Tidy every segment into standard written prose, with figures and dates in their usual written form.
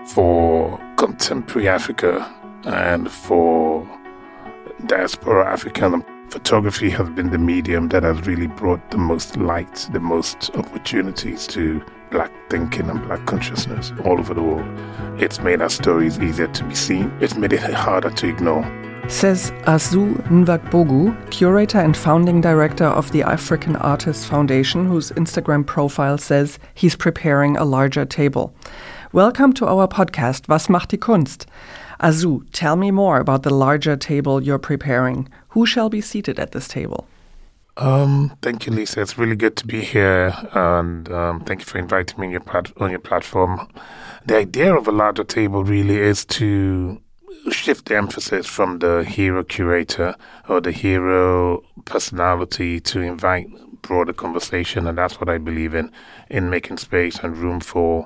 for contemporary Africa and for diaspora African, photography has been the medium that has really brought the most light, the most opportunities to Black thinking and Black consciousness all over the world. It's made our stories easier to be seen. It's made it harder to ignore. Says Azu Nwagbogu, curator and founding director of the African Artists Foundation, whose Instagram profile says he's preparing a larger table. Welcome to our podcast, Was macht die Kunst? Azu, tell me more about the larger table you're preparing. Who shall be seated at this table? Thank you, Lisa. It's really good to be here, and thank you for inviting me on your platform. The idea of a larger table really is to shift the emphasis from the hero curator or the hero personality to invite broader conversation, and that's what I believe in making space and room for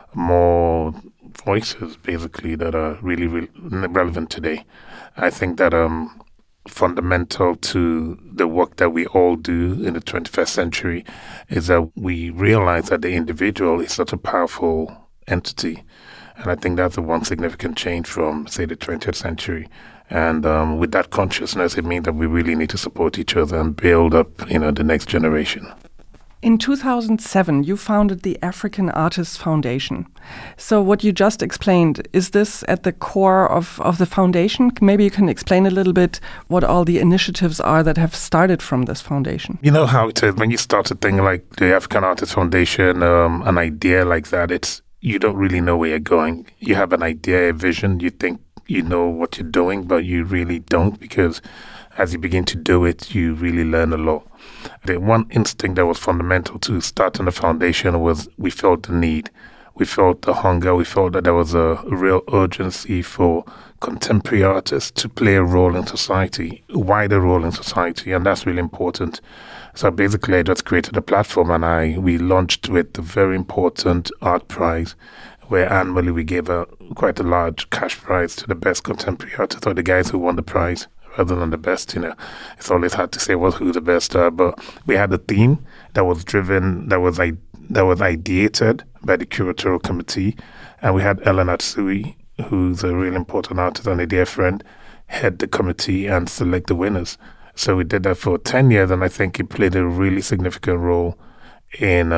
more voices, basically, that are really, really relevant today. I think that fundamental to the work that we all do in the 21st century is that we realize that the individual is such a powerful entity. And I think that's the one significant change from, say, the 20th century. And with that consciousness, it means that we really need to support each other and build up, the next generation. In 2007, you founded the African Artists Foundation. So what you just explained, is this at the core of the foundation? Maybe you can explain a little bit what all the initiatives are that have started from this foundation. You know how it is, when you start a thing like the African Artists Foundation, an idea like that, you don't really know where you're going. You have an idea, a vision, you think you know what you're doing, but you really don't, because as you begin to do it, you really learn a lot. The one instinct that was fundamental to starting the foundation was we felt the need. We felt the hunger. We felt that there was a real urgency for contemporary artists to play a role in society, a wider role in society, and that's really important. So basically, I just created a platform, and we launched with a very important art prize, where annually we gave quite a large cash prize to the best contemporary artists, or the guys who won the prize, rather than the best. It's always hard to say who the best are, but we had a theme that was driven, that was ideated by the curatorial committee, and we had Ellen Atsui, who's a really important artist and a dear friend, head the committee and select the winners. So we did that for 10 years, and I think it played a really significant role in,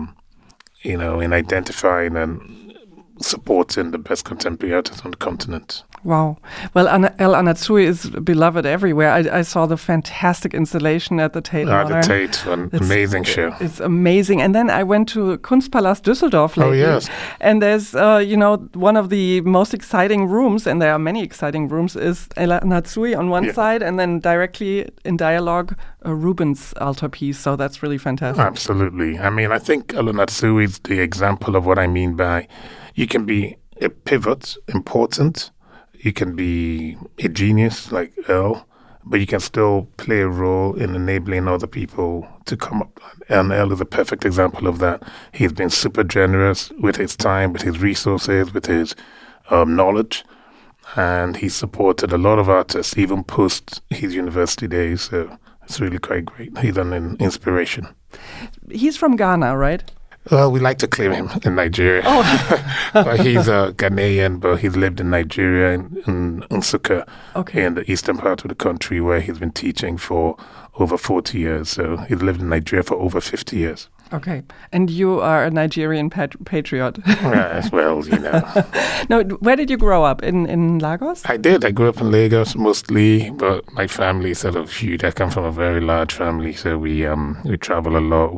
in identifying and supporting the best contemporary artists on the continent. Wow. Well, El Anatsui is beloved everywhere. I saw the fantastic installation at the Tate Modern. The Tate, an amazing show. It's amazing. And then I went to Kunstpalast Düsseldorf lately. Oh, yes. And there's, one of the most exciting rooms, and there are many exciting rooms, is El Anatsui on one side, and then directly in dialogue, a Rubens altarpiece. So that's really fantastic. Absolutely. I mean, I think El Anatsui is the example of what I mean by you can be a pivot, important. You can be a genius like El, but you can still play a role in enabling other people to come up. And El is a perfect example of that. He's been super generous with his time, with his resources, with his knowledge. And he supported a lot of artists, even post his university days. So it's really quite great. He's an inspiration. He's from Ghana, right? Well, we like to claim him in Nigeria. Oh. But he's a Ghanaian, but he's lived in Nigeria, in Nsukka, in the eastern part of the country, where he's been teaching for over 40 years. So he's lived in Nigeria for over 50 years. Okay. And you are a Nigerian patriot. Yes, well, Now, where did you grow up? In Lagos? I did. I grew up in Lagos mostly, but my family is sort of huge. I come from a very large family, so we travel a lot.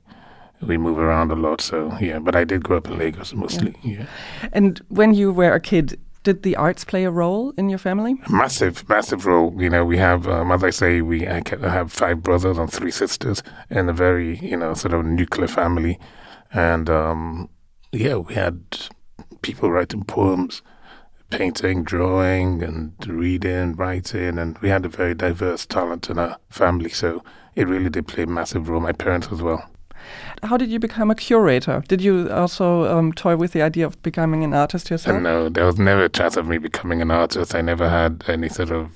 We move around a lot, so but I did grow up in Lagos mostly, And when you were a kid, did the arts play a role in your family? Massive role. We have, as I say, I have 5 brothers and 3 sisters in a very, sort of nuclear family. And, we had people writing poems, painting, drawing, and reading, writing, and we had a very diverse talent in our family, so it really did play a massive role, my parents as well. How did you become a curator? Did you also toy with the idea of becoming an artist yourself? No, there was never a chance of me becoming an artist. I never had any sort of,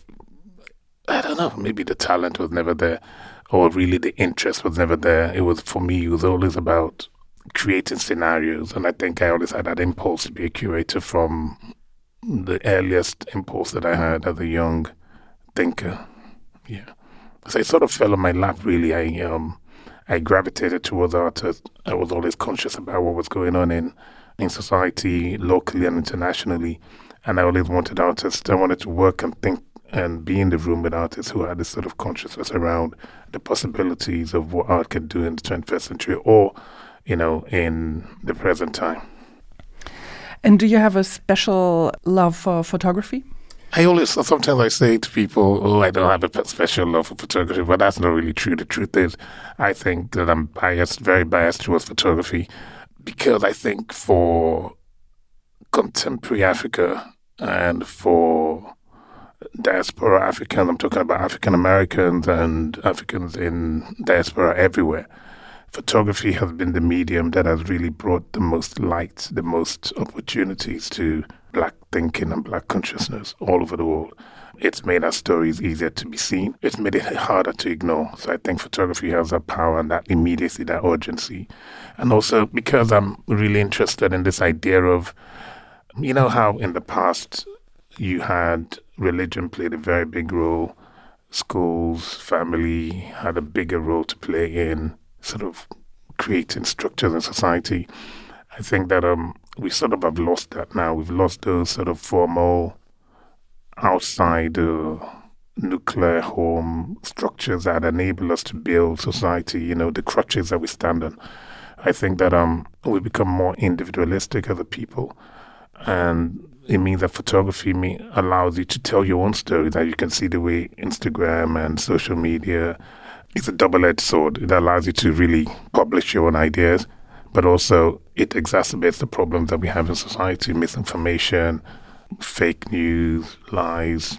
I don't know, maybe the talent was never there, or really the interest was never there. For me, it was always about creating scenarios. And I think I always had that impulse to be a curator from the earliest impulse that I had as a young thinker. Yeah. So it sort of fell on my lap, really. I gravitated towards art. I was always conscious about what was going on in society, locally and internationally. And I always wanted artists. I wanted to work and think and be in the room with artists who had this sort of consciousness around the possibilities of what art can do in the 21st century or, in the present time. And do you have a special love for photography? Sometimes I say to people, I don't have a special love for photography, but that's not really true. The truth is, I think that I'm very biased towards photography, because I think for contemporary Africa and for diaspora Africans, I'm talking about African Americans and Africans in diaspora everywhere, photography has been the medium that has really brought the most light, the most opportunities to Black thinking and Black consciousness all over the world. It's made our stories easier to be seen. It's made it harder to ignore. So I think photography has that power and that immediacy, that urgency. And also because I'm really interested in this idea of, how in the past you had religion played a very big role, schools, family had a bigger role to play in sort of creating structures in society. I think that we sort of have lost that now. We've lost those sort of formal outside nuclear home structures that enable us to build society, the crutches that we stand on. I think that we become more individualistic as a people, and it means that photography allows you to tell your own story, that you can see the way Instagram and social media is a double-edged sword. It allows you to really publish your own ideas, but also it exacerbates the problems that we have in society, misinformation, fake news, lies,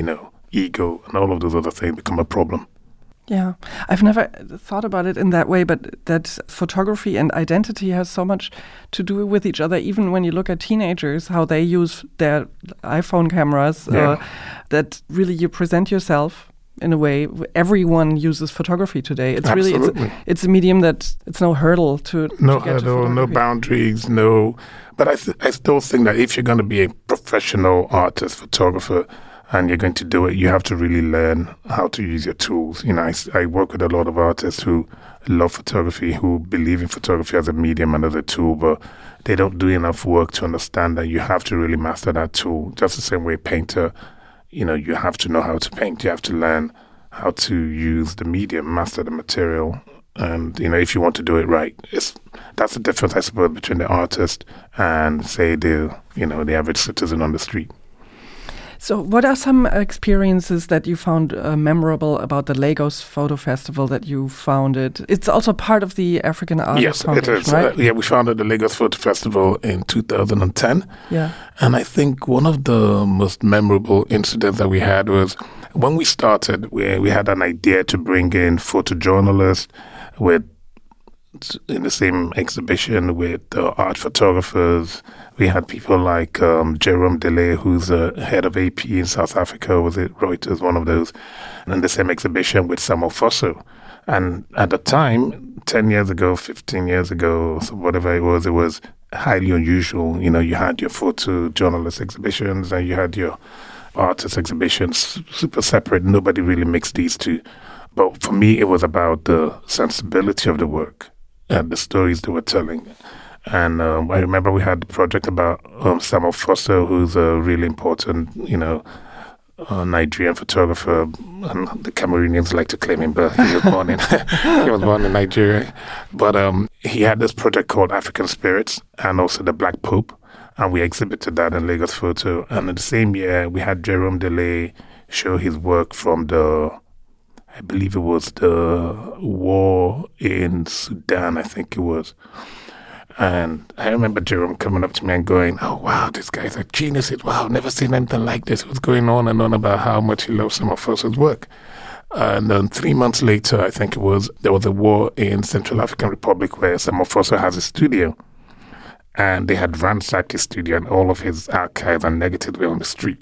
ego, and all of those other things become a problem. Yeah, I've never thought about it in that way, but that photography and identity has so much to do with each other. Even when you look at teenagers, how they use their iPhone cameras, that really you present yourself in a way. Everyone uses photography today. It's Absolutely. really, it's a medium that it's no hurdle to no to get hurdle, to no boundaries, no. But I still think that if you're going to be a professional artist, photographer, and you're going to do it, you have to really learn how to use your tools. I work with a lot of artists who love photography, who believe in photography as a medium and as a tool, but they don't do enough work to understand that you have to really master that tool. Just the same way a painter, you have to know how to paint. You have to learn how to use the medium, master the material. And, if you want to do it right, that's the difference, I suppose, between the artist and, say, the average citizen on the street. So what are some experiences that you found memorable about the Lagos Photo Festival that you founded? It's also part of the African Artists Foundation, it is. right? We founded the Lagos Photo Festival in 2010. Yeah. And I think one of the most memorable incidents that we had was when we started, we had an idea to bring in photojournalists in the same exhibition with art photographers. We had people like Jerome Delay, who's the head of AP in South Africa, was it Reuters, one of those, and in the same exhibition with Samuel Fosso. And at the time, 10 years ago, 15 years ago, so whatever it was highly unusual. You had your photojournalist exhibitions and you had your artist exhibitions, super separate. Nobody really mixed these two. But for me, it was about the sensibility of the work and the stories they were telling. And I remember we had the project about Samuel Fosso, who's a really important, Nigerian photographer, and the Cameroonians like to claim him, but he was born in Nigeria. But he had this project called African Spirits and also the Black Pope, and we exhibited that in Lagos Photo. And in the same year, we had Jerome Delay show his work from I believe it was the war in Sudan, I think it was. And I remember Jerome coming up to me and going, "Oh, wow, this guy's a genius. Wow, never seen anything like this." He was going on and on about how much he loves Samuel Fosso's work. And then 3 months later, I think it was, there was a war in Central African Republic where Samuel Fosso has a studio. And they had ransacked his studio and all of his archives and negatives were on the street.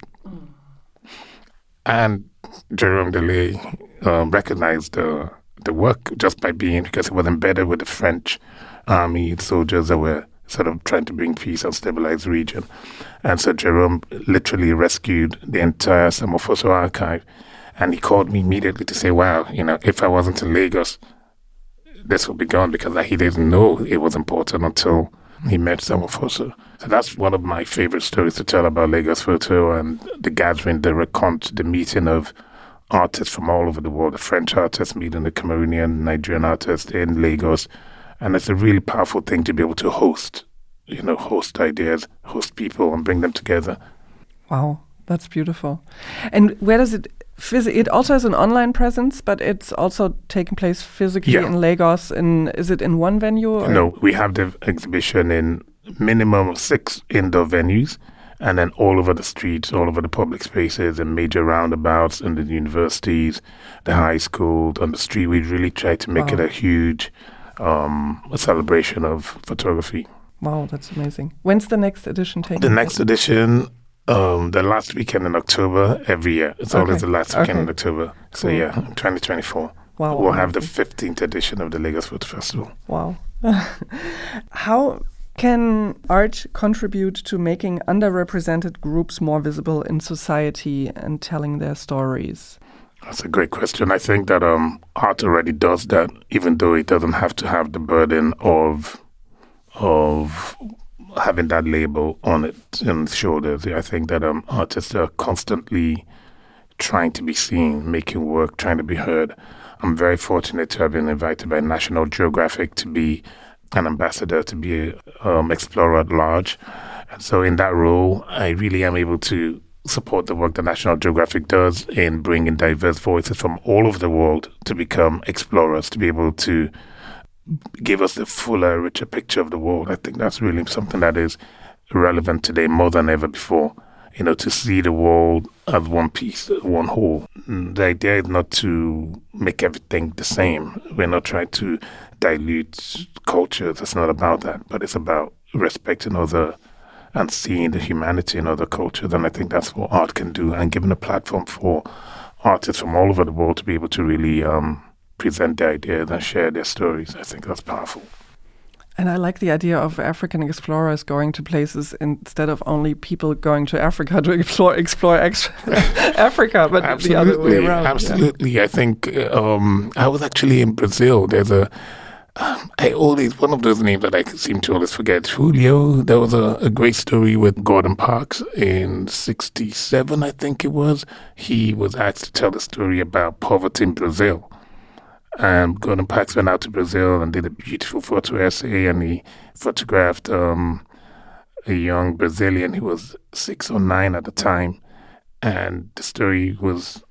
And Jerome Delay recognized the work just by because it was embedded with the French army soldiers that were sort of trying to bring peace and stabilize the region. And so Jerome literally rescued the entire Samofoso archive. And he called me immediately to say, wow, if I wasn't in Lagos, this would be gone, because he didn't know it was important until he met Samofoso. So that's one of my favorite stories to tell about Lagos Photo, and the gathering, the recount, the meeting of artists from all over the world, the French artists meeting the Cameroonian, Nigerian artists in Lagos. And it's a really powerful thing to be able to host ideas, host people, and bring them together. Wow, that's beautiful. And where does it it also has an online presence, but it's also taking place physically in Lagos. Is it in one venue? Or? No, we have the exhibition in minimum 6 indoor venues, and then all over the streets, all over the public spaces and major roundabouts in the universities, the high school, on the street. We really try to make it a huge a celebration of photography. Wow, that's amazing. When's the next edition taking place? The next edition, the last weekend in October every year. It's always the last weekend in October. Cool. So yeah, 2024. Wow. We'll have the 15th edition of the Lagos Photo Festival. Wow. How can art contribute to making underrepresented groups more visible in society and telling their stories? That's a great question. I think that art already does that, even though it doesn't have to have the burden of having that label on its shoulders. I think that artists are constantly trying to be seen, making work, trying to be heard. I'm very fortunate to have been invited by National Geographic to be an ambassador, to be an explorer at large. And so in that role, I really am able to support the work that National Geographic does in bringing diverse voices from all over the world to become explorers, to be able to give us a fuller, richer picture of the world. I think that's really something that is relevant today more than ever before. To see the world as one piece, one whole. The idea is not to make everything the same. We're not trying to dilute cultures. It's not about that. But it's about respecting other and seeing the humanity in other cultures. And I think that's what art can do, and giving a platform for artists from all over the world to be able to really present their ideas and share their stories. I think that's powerful. And I like the idea of African explorers going to places instead of only people going to Africa to explore Africa, but absolutely, the other way around. Absolutely. Yeah. I think I was actually in Brazil. There's one of those names that I seem to always forget. Julio. There was a great story with Gordon Parks in 1967, I think it was. He was asked to tell a story about poverty in Brazil. And Gordon Parks went out to Brazil and did a beautiful photo essay, and he photographed a young Brazilian who was 6 or 9 at the time. And the story went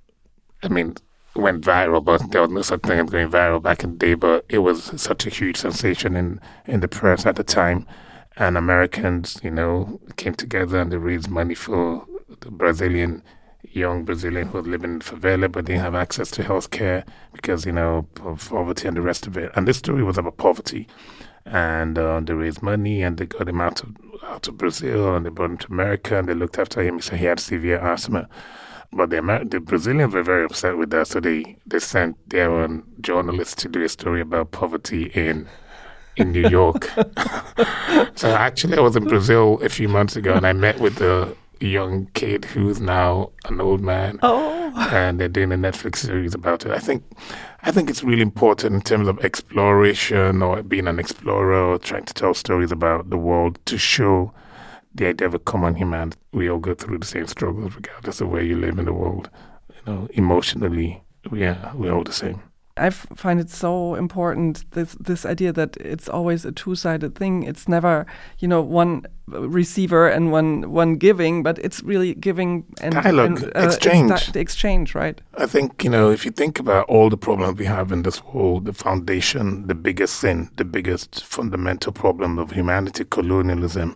viral, but there was no such thing as going viral back in the day, but it was such a huge sensation in the press at the time. And Americans, came together and they raised money for the young Brazilian who was living in favela, but didn't have access to health care because, of poverty and the rest of it. And this story was about poverty. And they raised money and they got him out of Brazil, and they brought him to America, and they looked after him. He said he had severe asthma. But the Brazilians were very upset with that, so they sent their own journalists to do a story about poverty in New York. So actually I was in Brazil a few months ago, and I met with the young kid who's now an old man. Oh. And they're doing a Netflix series about it. I think it's really important in terms of exploration or being an explorer or trying to tell stories about the world to show the idea of a common humanity. We all go through the same struggles regardless of where you live in the world. Emotionally, we're all the same. I find it so important, this idea that it's always a two-sided thing. It's never, one receiver and one giving, but it's really giving and dialogue, exchange. The exchange, right? I think, if you think about all the problems we have in this world, the foundation, the biggest sin, the biggest fundamental problem of humanity, colonialism,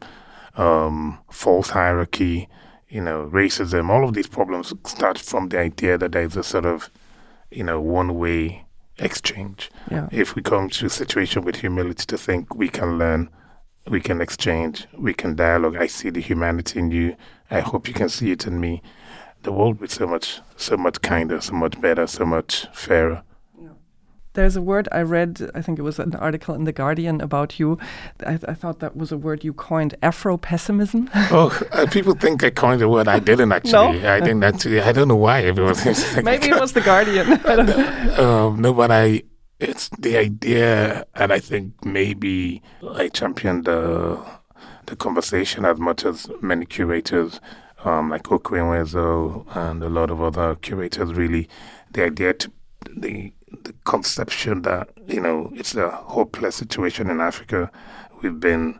false hierarchy, racism, all of these problems start from the idea that there's a sort of, one-way exchange. Yeah. If we come to a situation with humility to think we can learn, we can exchange, we can dialogue. I see the humanity in you. I hope you can see it in me. The world will be so much kinder, so much better, so much fairer. Yeah. There's a word I read, I think it was an article in The Guardian about you. I thought that was a word you coined, Afro-pessimism. People think I coined the word. I didn't actually. No? I didn't actually. I don't know why everyone thinks like Maybe it was The Guardian. I don't know. No, but it's the idea, and I think maybe I championed the conversation as much as many curators, like Okwenwezo and a lot of other curators, really, the idea the conception that, it's a hopeless situation in Africa. We've been,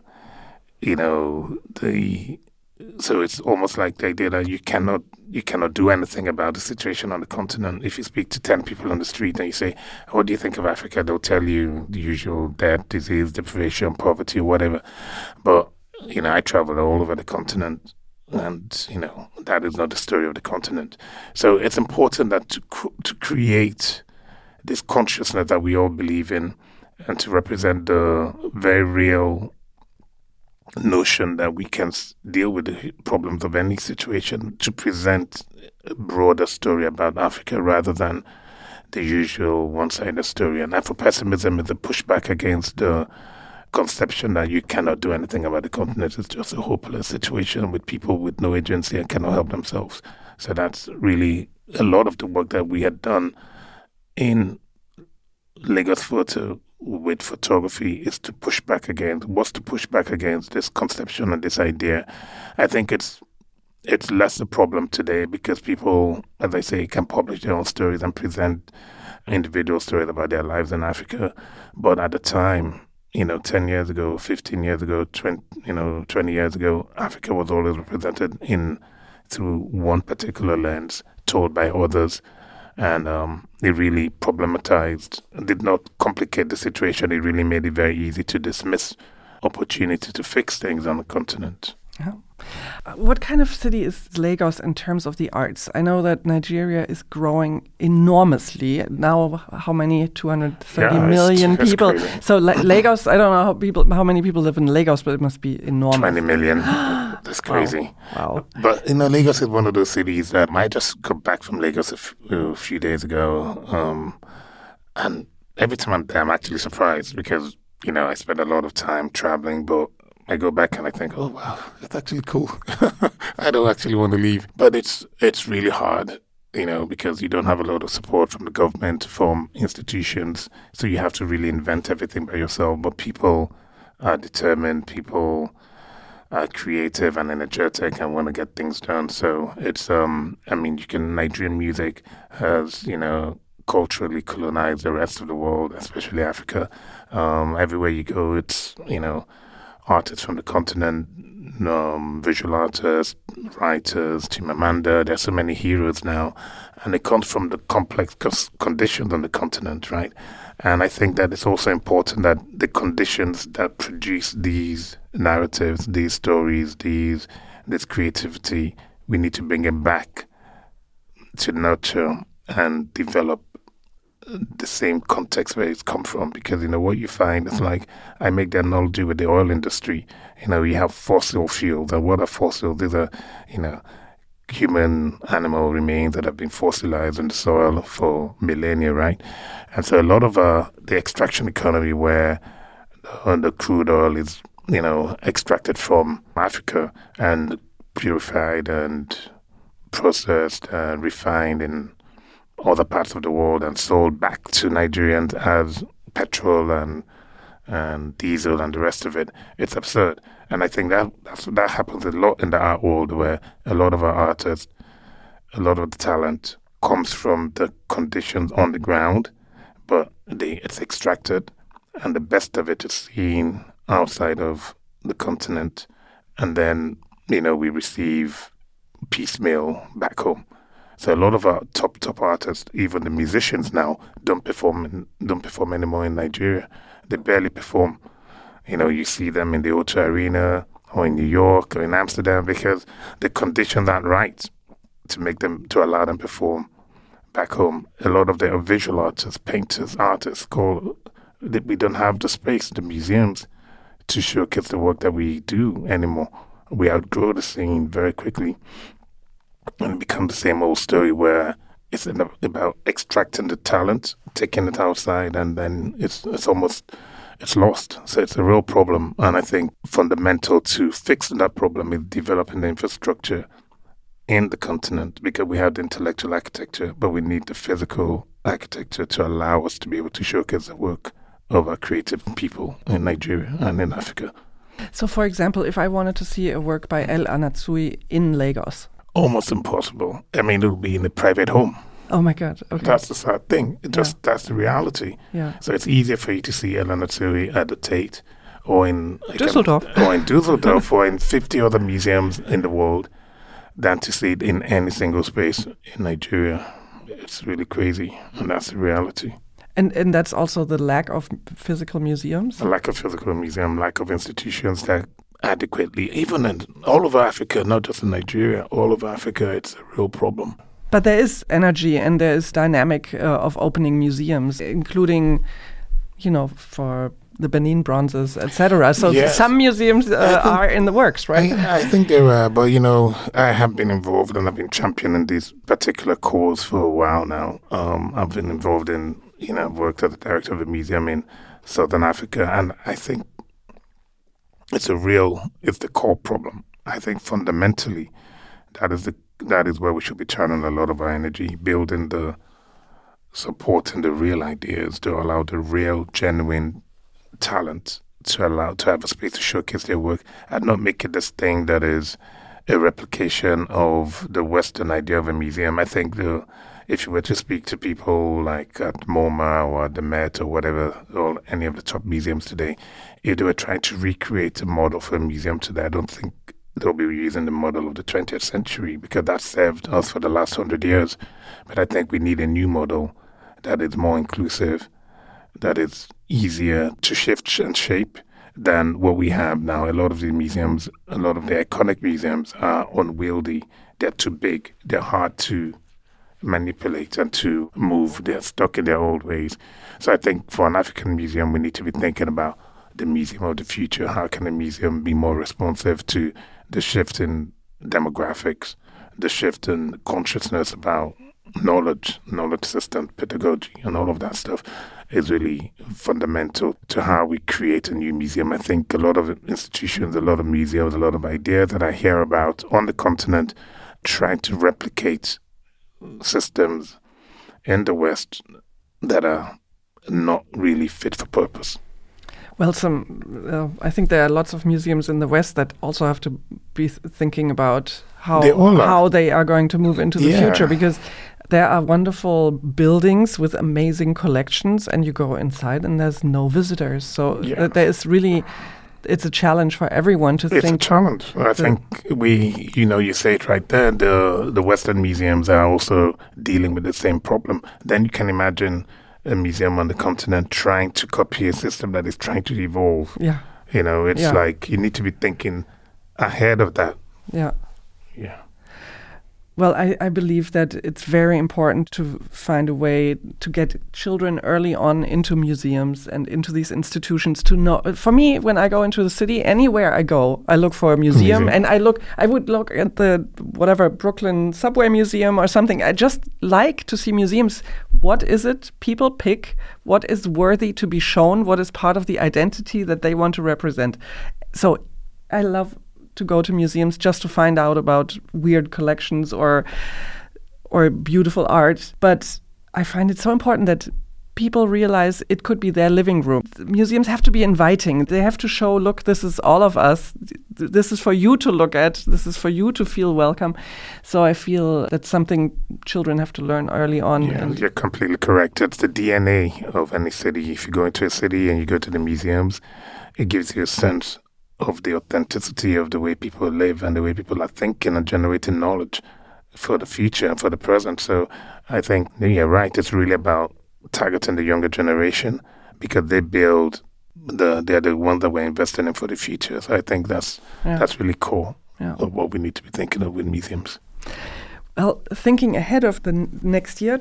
so it's almost like the idea that you cannot do anything about the situation on the continent. If you speak to 10 people on the street and you say, what do you think of Africa? They'll tell you the usual: death, disease, deprivation, poverty, whatever. But, I travel all over the continent, and, that is not the story of the continent. So it's important that to create this consciousness that we all believe in, and to represent the very real notion that we can deal with the problems of any situation, to present a broader story about Africa rather than the usual one-sided story. And Afro-pessimism is a pushback against the conception that you cannot do anything about the continent. It's just a hopeless situation with people with no agency and cannot help themselves. So that's really a lot of the work that we had done in Lagos Photo with photography is to push back against this conception and this idea. I think it's less a problem today because people, as I say, can publish their own stories and present individual stories about their lives in Africa. But at the time, 10 years ago, 15 years ago, 20 years ago, Africa was always represented through one particular lens, told by others. And it really problematized, did not complicate the situation. It really made it very easy to dismiss opportunity to fix things on the continent. Yeah. What kind of city is Lagos in terms of the arts? I know that Nigeria is growing enormously. Now, how many? 230 million people. Crazy. So Lagos, I don't know how many people live in Lagos, but it must be enormous. 20 million. That's crazy. Wow. But, Lagos is one of those cities that I just got back from Lagos a few days ago. And every time I'm there, I'm actually surprised because, I spend a lot of time traveling, but I go back and I think, oh, wow, that's actually cool. I don't actually want to leave. But it's really hard, because you don't have a lot of support from the government, from institutions. So you have to really invent everything by yourself. But people are determined. People are creative and energetic and want to get things done. So it's, Nigerian music has, culturally colonized the rest of the world, especially Africa. Everywhere you go, it's, artists from the continent, visual artists, writers, Chimamanda. There's so many heroes now, and it comes from the complex conditions on the continent, right? And I think that it's also important that the conditions that produce these narratives, these stories, this creativity, we need to bring it back to nurture and develop the same context where it's come from, because what you find is, like, I make the analogy with the oil industry. You have fossil fuels, and what are fossils? These are human animal remains that have been fossilized in the soil for millennia, right? And so a lot of the extraction economy, where the crude oil is extracted from Africa and purified and processed and refined in other parts of the world and sold back to Nigerians as petrol and diesel and the rest of it. It's absurd. And I think that happens a lot in the art world, where a lot of our artists, a lot of the talent comes from the conditions on the ground, but it's extracted, and the best of it is seen outside of the continent. And then, we receive piecemeal back home. So a lot of our top artists, even the musicians now, don't perform anymore in Nigeria. They barely perform. You see them in the O2 Arena or in New York or in Amsterdam because the conditions aren't right to allow them perform back home. A lot of the visual artists, painters, artists, we don't have the space, the museums, to showcase the work that we do anymore. We outgrow the scene very quickly. And it becomes the same old story where It's about extracting the talent, taking it outside, and then it's lost. So it's a real problem. And I think fundamental to fixing that problem is developing the infrastructure in the continent, because we have the intellectual architecture, but we need the physical architecture to allow us to be able to showcase the work of our creative people in Nigeria and in Africa. So, for example, if I wanted to see a work by El Anatsui in Lagos? Almost impossible. I mean, it would be in a private home. Oh my God! Okay. That's the sad thing. That's the reality. Yeah. So it's easier for you to see El Anatsui at the Tate, or in Düsseldorf, or in 50 other museums in the world, than to see it in any single space in Nigeria. It's really crazy, and that's the reality. And that's also the lack of physical museums? A lack of physical museum, lack of institutions that adequately, even in all over Africa, not just in Nigeria, all over Africa, it's a real problem. But there is energy and there is dynamic of opening museums, including, for the Benin bronzes, etc. So yes. Some museums are in the works, right? I think there are, but I have been involved and I've been championing this particular cause for a while now. I've been involved in, I've worked as the director of a museum in Southern Africa, and I think it's the core problem. I think fundamentally that is where we should be channeling a lot of our energy, building supporting the real ideas to allow the real, genuine talent to have a space to showcase their work, and not make it this thing that is a replication of the Western idea of a museum. I think if you were to speak to people like at MoMA or at the Met or whatever, or any of the top museums today, if they were trying to recreate a model for a museum today, I don't think they'll be using the model of the 20th century, because that served us for the last 100 years. But I think we need a new model that is more inclusive, that is easier to shift and shape than what we have now. A lot of the museums, a lot of the iconic museums are unwieldy. They're too big. They're hard to manipulate and to move. They're stuck in their old ways. So I think for an African museum, we need to be thinking about the museum of the future. How can a museum be more responsive to the shift in demographics, the shift in consciousness about knowledge system, pedagogy, and all of that stuff is really fundamental to how we create a new museum. I think a lot of institutions, a lot of museums, a lot of ideas that I hear about on the continent trying to replicate systems in the West that are not really fit for purpose. Well, I think there are lots of museums in the West that also have to be thinking about how they are going to move into the future, because there are wonderful buildings with amazing collections, and you go inside and there's no visitors. So there is really, it's a challenge for everyone to think. It's a challenge. I think you say it right there, the Western museums are also dealing with the same problem. Then you can imagine a museum on the continent trying to copy a system that is trying to evolve. Yeah. It's like you need to be thinking ahead of that. Yeah. Yeah. Well, I believe that it's very important to find a way to get children early on into museums and into these institutions to know. For me, when I go into the city, anywhere I go, I look for a museum. And I would look at the Brooklyn Subway Museum or something. I just like to see museums. What is it people pick? What is worthy to be shown? What is part of the identity that they want to represent? So I love to go to museums just to find out about weird collections or beautiful art. But I find it so important that people realize it could be their living room. Museums have to be inviting. They have to show, look, this is all of us. This is for you to look at. This is for you to feel welcome. So I feel that's something children have to learn early on. Yeah, you're completely correct. It's the DNA of any city. If you go into a city and you go to the museums, it gives you a sense of the authenticity of the way people live and the way people are thinking and generating knowledge for the future and for the present. So I think you're right. It's really about targeting the younger generation, because they build they're the ones that we're investing in for the future. So I think that's really core of what we need to be thinking of with museums. Well, thinking ahead of the next year,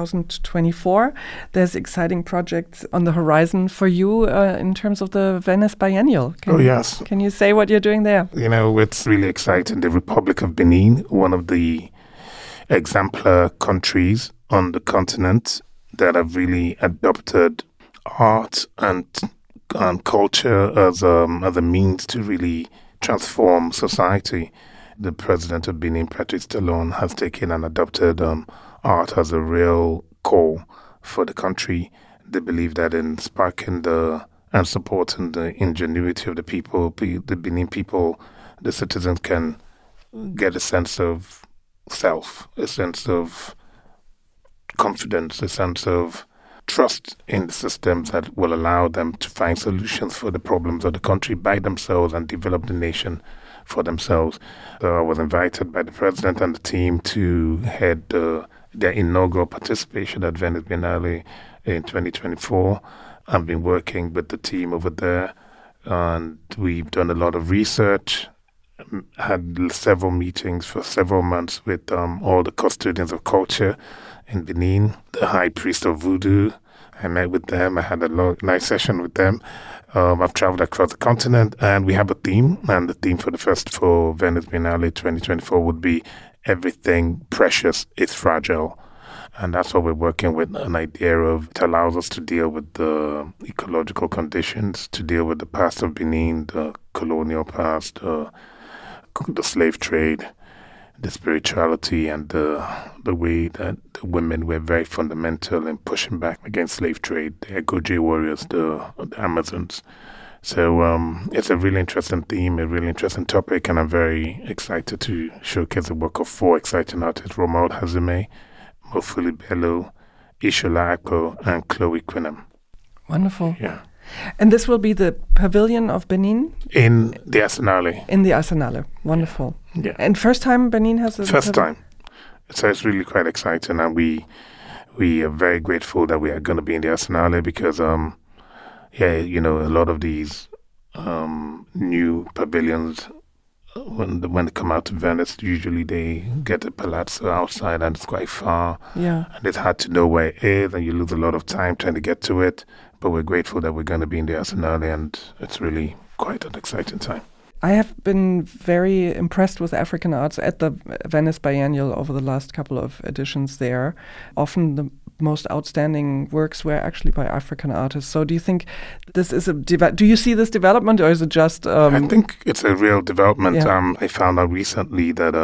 2024, there's exciting projects on the horizon for you in terms of the Venice Biennial. Yes. Can you say what you're doing there? It's really exciting. The Republic of Benin, one of the exemplar countries on the continent that have really adopted art and culture as a means to really transform society. The president of Benin, Patrice Talon, has taken and adopted art as a real core for the country. They believe that in sparking and supporting the ingenuity of the people, the Benin people, the citizens can get a sense of self, a sense of confidence, a sense of trust in the systems that will allow them to find solutions for the problems of the country by themselves and develop the nation for themselves. So I was invited by the president and the team to head their inaugural participation at Venice Biennale in 2024. I've been working with the team over there, and we've done a lot of research, had several meetings for several months with all the custodians of culture in Benin, the high priest of voodoo. I met with them. I had a nice session with them. I've traveled across the continent, and we have a theme. And the theme for Venice Biennale 2024 would be "Everything Precious is Fragile." And that's what we're working with, an idea of it allows us to deal with the ecological conditions, to deal with the past of Benin, the colonial past, the slave trade, the spirituality, and the way that the women were very fundamental in pushing back against slave trade, the Egoje warriors, the Amazons. So it's a really interesting theme, a really interesting topic, and I'm very excited to showcase the work of 4 exciting artists: Romuald Hazume, Mofuli Bello, Ishola Akpo, and Chloe Quinham. Wonderful. Yeah. And this will be the Pavilion of Benin? In the Arsenale. In the Arsenale. Wonderful. Yeah. And first time Benin has a First time. So it's really quite exciting, and we are very grateful that we are going to be in the Arsenale because, a lot of these new pavilions, when they come out to Venice, usually they get a palazzo outside and it's quite far. Yeah. And it's hard to know where it is, and you lose a lot of time trying to get to it. But we're grateful that we're going to be in the Arsenale, and it's really quite an exciting time. I have been very impressed with African arts at the Venice Biennial over the last couple of editions there. Often the most outstanding works were actually by African artists. So do you think this is do you see this development, or is it just... I think it's a real development. Yeah. I found out recently that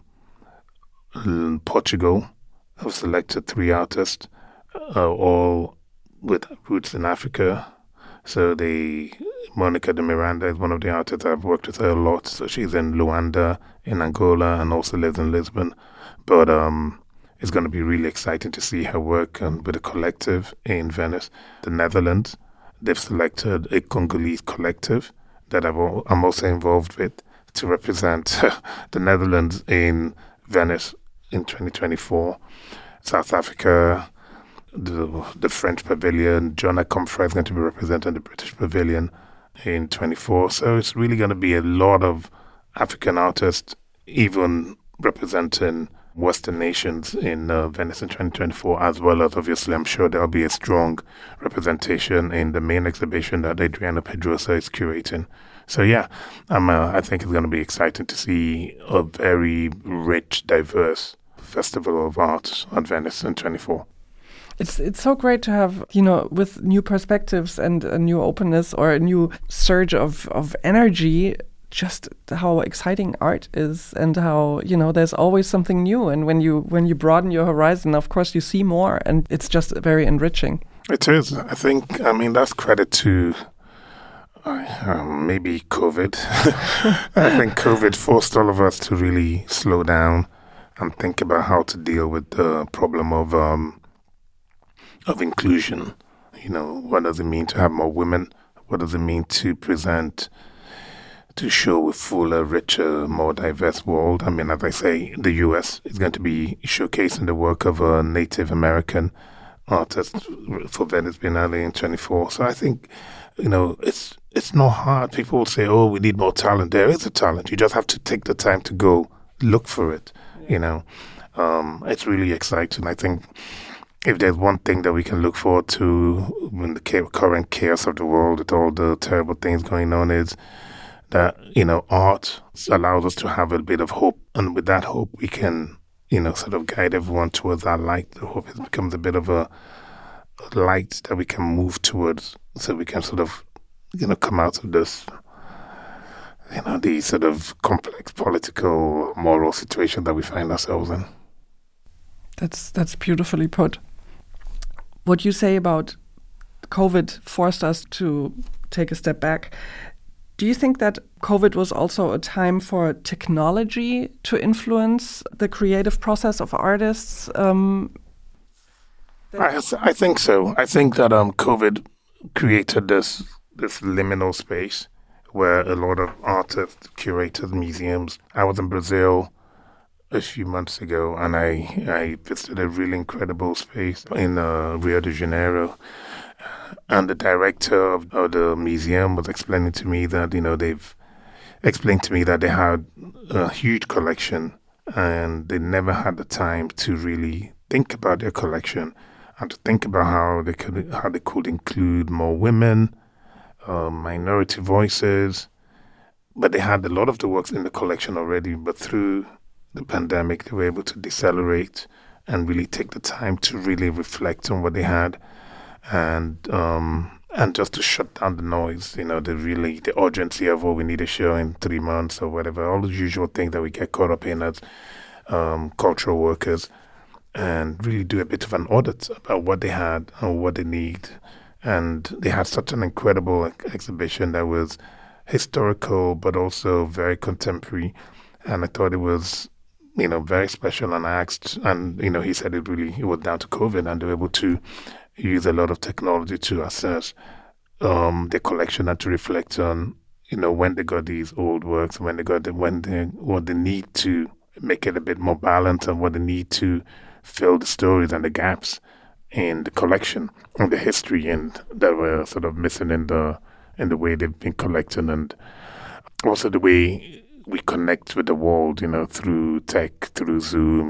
Portugal have selected 3 artists, all with roots in Africa. So Monica de Miranda is one of the artists. I've worked with her a lot. So she's in Luanda, in Angola, and also lives in Lisbon. But it's going to be really exciting to see her work with a collective in Venice. The Netherlands, they've selected a Congolese collective that I'm also involved with to represent the Netherlands in Venice in 2024. South Africa, the French Pavilion, John Akomfra is going to be representing the British Pavilion in 24. So it's really going to be a lot of African artists, even representing Western nations in Venice in 2024, as well as, obviously, I'm sure there'll be a strong representation in the main exhibition that Adriana Pedrosa is curating. So yeah, I think it's going to be exciting to see a very rich, diverse festival of art at Venice in 24. It's so great to have, with new perspectives and a new openness or a new surge of energy, just how exciting art is, and how, there's always something new. And when you broaden your horizon, of course, you see more, and it's just very enriching. It is. I think, that's credit to maybe COVID. I think COVID forced all of us to really slow down and think about how to deal with the problem of inclusion. What does it mean to have more women? What does it mean to show a fuller, richer, more diverse world? As I say, the U.S. is going to be showcasing the work of a Native American artist for Venice Biennale in 24. So I think, it's not hard. People will say, oh, we need more talent. There is a talent. You just have to take the time to go look for it. Yeah. It's really exciting. I think if there's one thing that we can look forward to in the current chaos of the world, with all the terrible things going on, is that, art allows us to have a bit of hope. And with that hope, we can sort of guide everyone towards that light. I hope it becomes a bit of a light that we can move towards, so we can sort of, come out of this, the sort of complex political, moral situation that we find ourselves in. That's beautifully put. What you say about COVID forced us to take a step back. Do you think that COVID was also a time for technology to influence the creative process of artists? I think so. I think that COVID created this liminal space where a lot of artists, curators, museums. I was in Brazil a few months ago, and I visited a really incredible space in Rio de Janeiro. And the director of the museum was explaining to me that, they've explained to me that they had a huge collection and they never had the time to really think about their collection and to think about how they could include more women, minority voices. But they had a lot of the works in the collection already, but through the pandemic, they were able to decelerate and really take the time to really reflect on what they had. And just to shut down the noise, the urgency of, we need a show in 3 months or whatever, all the usual things that we get caught up in as cultural workers, and really do a bit of an audit about what they had and what they need. And they had such an incredible exhibition that was historical but also very contemporary. And I thought it was, very special. And I asked, and, he said it was down to COVID, and they were able to use a lot of technology to assess their collection and to reflect on, when they got these old works, what they need to make it a bit more balanced, and what they need to fill the stories and the gaps in the collection and the history and that were sort of missing in the way they've been collecting, and also the way we connect with the world, through tech, through Zoom,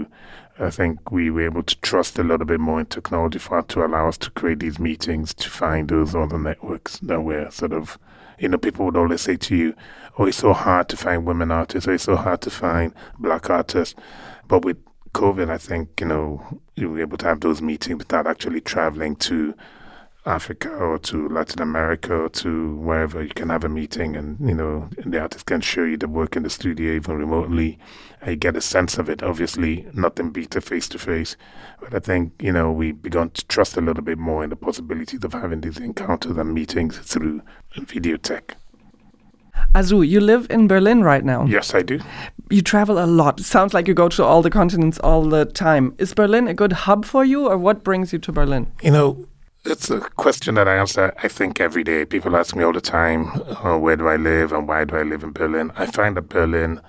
I think we were able to trust a little bit more in technology to allow us to create these meetings, to find those other networks that were sort of, people would always say to you, oh, it's so hard to find women artists, or it's so hard to find black artists. But with COVID, I think, you were able to have those meetings without actually traveling to Africa or to Latin America or to wherever. You can have a meeting and, the artist can show you the work in the studio even remotely. And you get a sense of it. Obviously, nothing beats a face-to-face. But I think, we've begun to trust a little bit more in the possibilities of having these encounters and meetings through video tech. Azu, you live in Berlin right now. Yes, I do. You travel a lot. Sounds like you go to all the continents all the time. Is Berlin a good hub for you, or what brings you to Berlin? It's a question that I answer, I think, every day. People ask me all the time, where do I live and why do I live in Berlin? I find that Berlin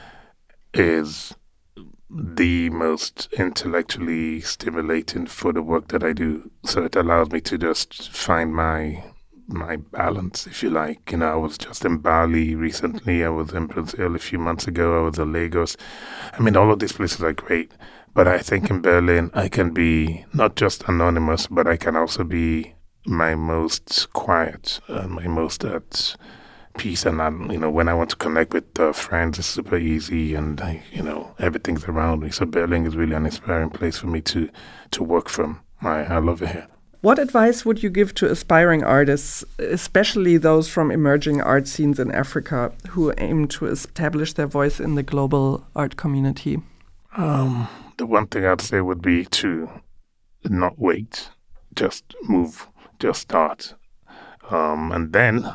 is the most intellectually stimulating for the work that I do. So it allows me to just find my balance, if you like. I was just in Bali recently. I was in Brazil a few months ago. I was in Lagos. All of these places are great. But I think in Berlin, I can be not just anonymous, but I can also be my most quiet and my most at peace. And, when I want to connect with friends, it's super easy and, everything's around me. So Berlin is really an inspiring place for me to work from. I love it here. What advice would you give to aspiring artists, especially those from emerging art scenes in Africa who aim to establish their voice in the global art community? The one thing I'd say would be to not wait, just move, just start. And then,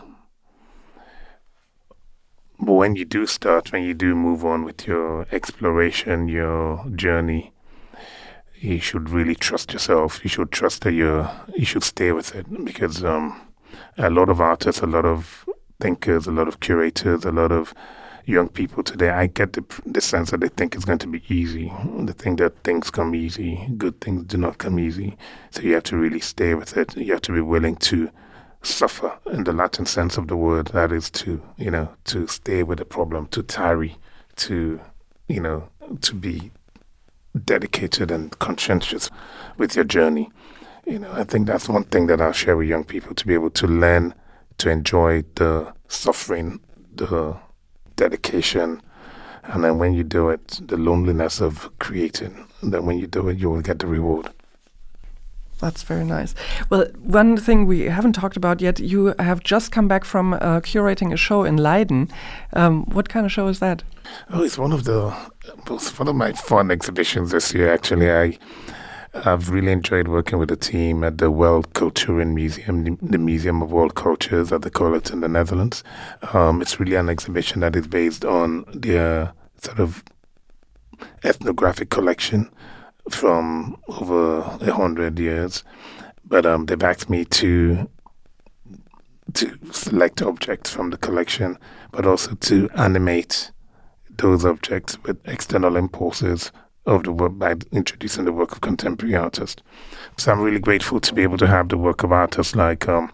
when you do start, when you do move on with your exploration, your journey, you should really trust yourself. You should trust that you should stay with it, because a lot of artists, a lot of thinkers, a lot of curators, a lot of young people today, I get the sense that they think it's going to be easy. They think that things come easy. Good things do not come easy. So you have to really stay with it. You have to be willing to suffer in the Latin sense of the word. That is to stay with the problem, to tarry, to be dedicated and conscientious with your journey. I think that's one thing that I'll share with young people, to be able to learn to enjoy the suffering, the dedication, And then when you do it, the loneliness of creating, then when you do it, you will get the reward. That's very nice. Well, one thing we haven't talked about yet, you have just come back from curating a show in Leiden. What kind of show is that? Oh, it's one of my fun exhibitions this year, actually. I've really enjoyed working with the team at the World Culturen Museum, the Museum of World Cultures, as they call it in the Netherlands. It's really an exhibition that is based on their sort of ethnographic collection from over 100 years. But they've asked me to select objects from the collection, but also to animate those objects with external impulses of the work by introducing the work of contemporary artists. So I'm really grateful to be able to have the work of artists like Iyao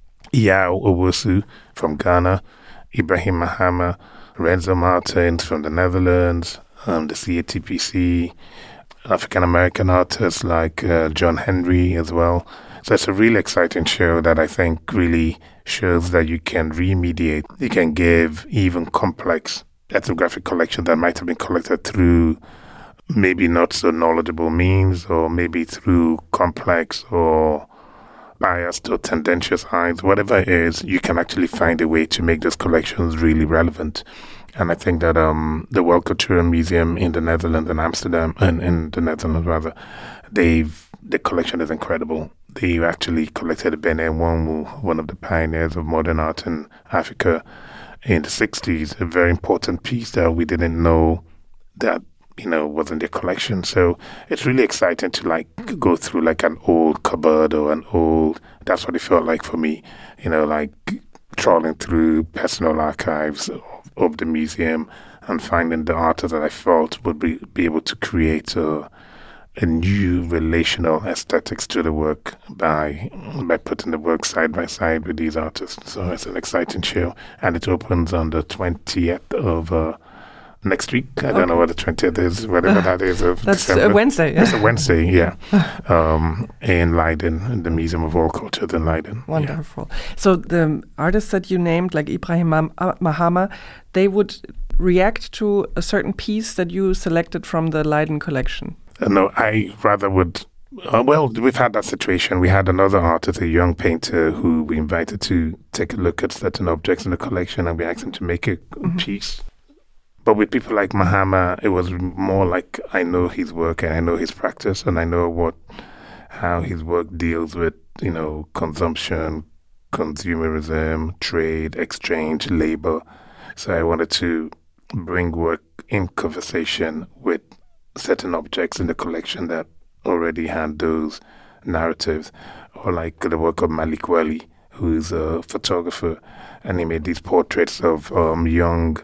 Owusu from Ghana, Ibrahim Mahama, Renzo Martins from the Netherlands, the CATPC, African-American artists like John Henry as well. So it's a really exciting show that I think really shows that you can remediate, you can give even complex ethnographic collections that might have been collected through maybe not so knowledgeable means, or maybe through complex or biased or tendentious eyes, whatever it is, you can actually find a way to make those collections really relevant. And I think that the World Culturen Museum in the Netherlands, in Amsterdam, and in the Netherlands rather, the collection is incredible. They actually collected Bene Nwonwu, one of the pioneers of modern art in Africa in the 60s, a very important piece that we didn't know that was in their collection. So it's really exciting to go through like an old cupboard or that's what it felt like for me, like trawling through personal archives of the museum and finding the artists that I felt would be able to create a new relational aesthetics to the work by putting the work side by side with these artists. So it's an exciting show, and it opens on the 20th of next week. I don't know what the 20th is, whatever that is of That's December. a Wednesday. Yeah? It's a Wednesday, yeah. In Leiden, in the Museum of World Culture in Leiden. Wonderful. Yeah. So the artists that you named, like Ibrahim Mahama, they would react to a certain piece that you selected from the Leiden collection? No, I rather would... well, we've had that situation. We had another artist, a young painter, who we invited to take a look at certain objects in the collection, and we asked him to make a piece. But with people like Mahama, it was more like I know his work and I know his practice and I know how his work deals with, consumption, consumerism, trade, exchange, labor. So I wanted to bring work in conversation with certain objects in the collection that already had those narratives, or like the work of Malik Wali, who's a photographer, and he made these portraits of young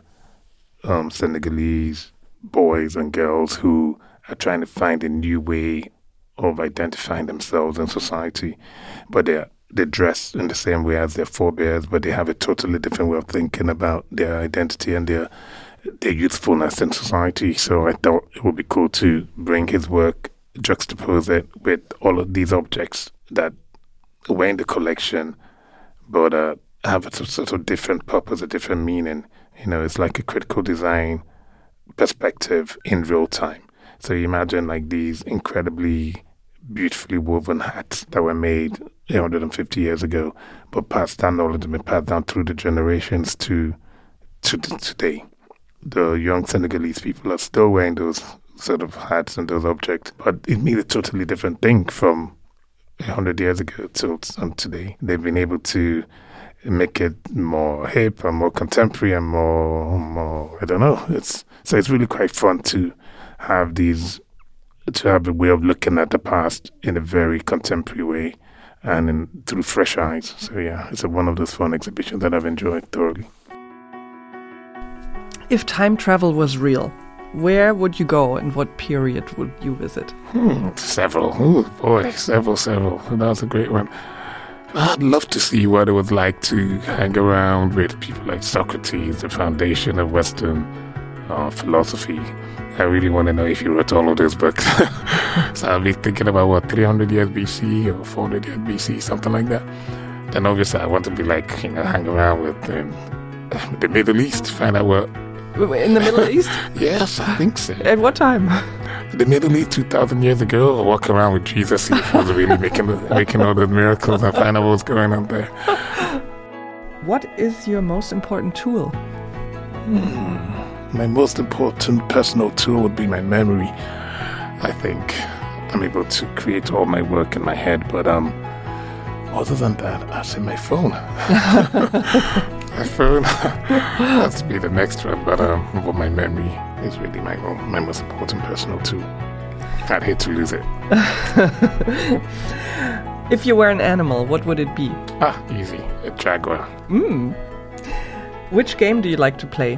Senegalese boys and girls who are trying to find a new way of identifying themselves in society, but they dress in the same way as their forebears, but they have a totally different way of thinking about their identity and their youthfulness in society. So I thought it would be cool to bring his work, juxtapose it with all of these objects that were in the collection, but have a sort of different purpose, a different meaning. It's like a critical design perspective in real time. So you imagine like these incredibly beautifully woven hats that were made 150 years ago, but passed down, all of them been passed down through the generations to today. The young Senegalese people are still wearing those sort of hats and those objects, but it means a totally different thing from 100 years ago till today. They've been able to make it more hip and more contemporary and more I don't know. It's really quite fun to have a way of looking at the past in a very contemporary way and through fresh eyes. So yeah, it's one of those fun exhibitions that I've enjoyed thoroughly. If time travel was real, where would you go and what period would you visit? Several. Oh boy, several. That was a great one. I'd love to see what it was like to hang around with people like Socrates, the foundation of Western philosophy. I really want to know if he wrote all of those books. So I'll be thinking about 300 years BC or 400 years BC, something like that. Then obviously I want to be hang around with the Middle East, find out what In the Middle East? Yes, I think so. At what time? The Middle East 2,000 years ago, I walk around with Jesus, see if he was really making all the miracles and find out what's going on there. What is your most important tool? My most important personal tool would be my memory. I think I'm able to create all my work in my head, but other than that, I'd say my phone. My phone has to be the next one, but my memory is really my most important personal tool. I'd hate to lose it. If you were an animal, what would it be? Easy. A jaguar. Which game do you like to play?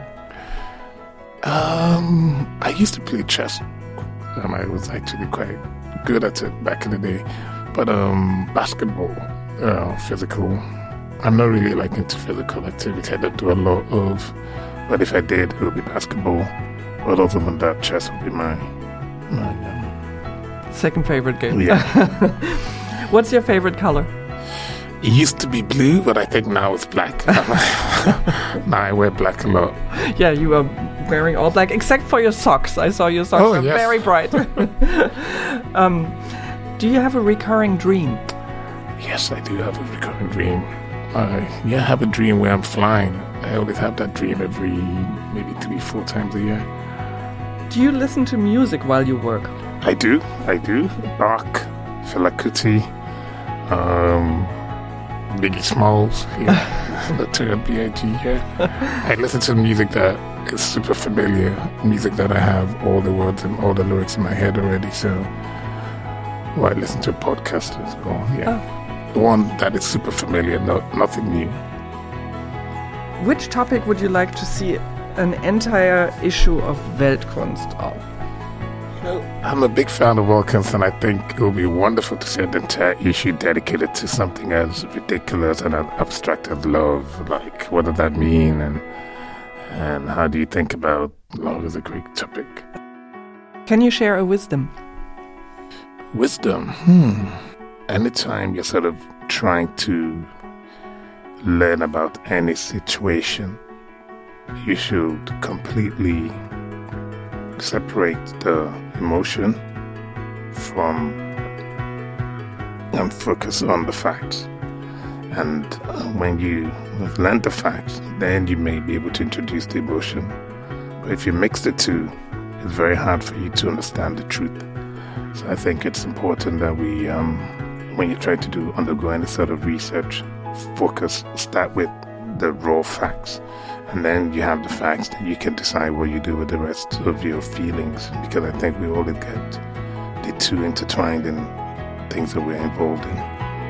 I used to play chess. I was actually quite good at it back in the day. But basketball, physical. I'm not really like into physical activity. I don't do a lot of. But if I did, it would be basketball. But other than that, chess would be my second favorite game. Yeah. What's your favorite color? It used to be blue, but I think now it's black. Now I wear black a lot. Yeah, you are wearing all black, except for your socks. I saw your socks are very bright. Do you have a recurring dream? Yes, I do have a recurring dream. I have a dream where I'm flying. I always have that dream every maybe 3-4 times a year. Do you listen to music while you work? I do. Bach, Fela Kuti, Biggie Smalls, the term B.I.G. I listen to music that is super familiar, music that I have all the words and all the lyrics in my head already. So, I listen to podcasts as well. The one that is super familiar, nothing new. Which topic would you like to see an entire issue of Weltkunst of? I'm a big fan of Weltkunst, and I think it would be wonderful to see an entire issue dedicated to something as ridiculous and abstract as love. Like, what does that mean, and how do you think about love as a great topic? Can you share a wisdom? Wisdom? Anytime you're sort of trying to learn about any situation, you should completely separate the emotion from and focus on the facts. And when you learn the facts, then you may be able to introduce the emotion. But if you mix the two, it's very hard for you to understand the truth. So I think it's important that we, when you try to undergo any sort of research, start with the raw facts. And then you have the facts, that you can decide what you do with the rest of your feelings. Because I think we always get the two intertwined in things that we're involved in.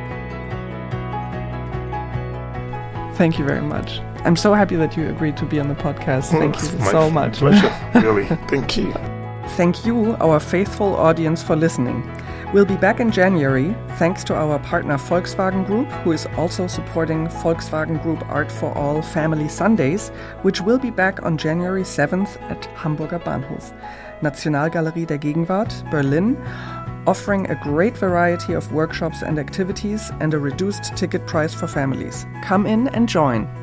Thank you very much. I'm so happy that you agreed to be on the podcast. Thank you so much. Pleasure, really. Thank you. Thank you, our faithful audience, for listening. We'll be back in January, thanks to our partner Volkswagen Group, who is also supporting Volkswagen Group Art for All Family Sundays, which will be back on January 7th at Hamburger Bahnhof. Nationalgalerie der Gegenwart, Berlin, offering a great variety of workshops and activities and a reduced ticket price for families. Come in and join.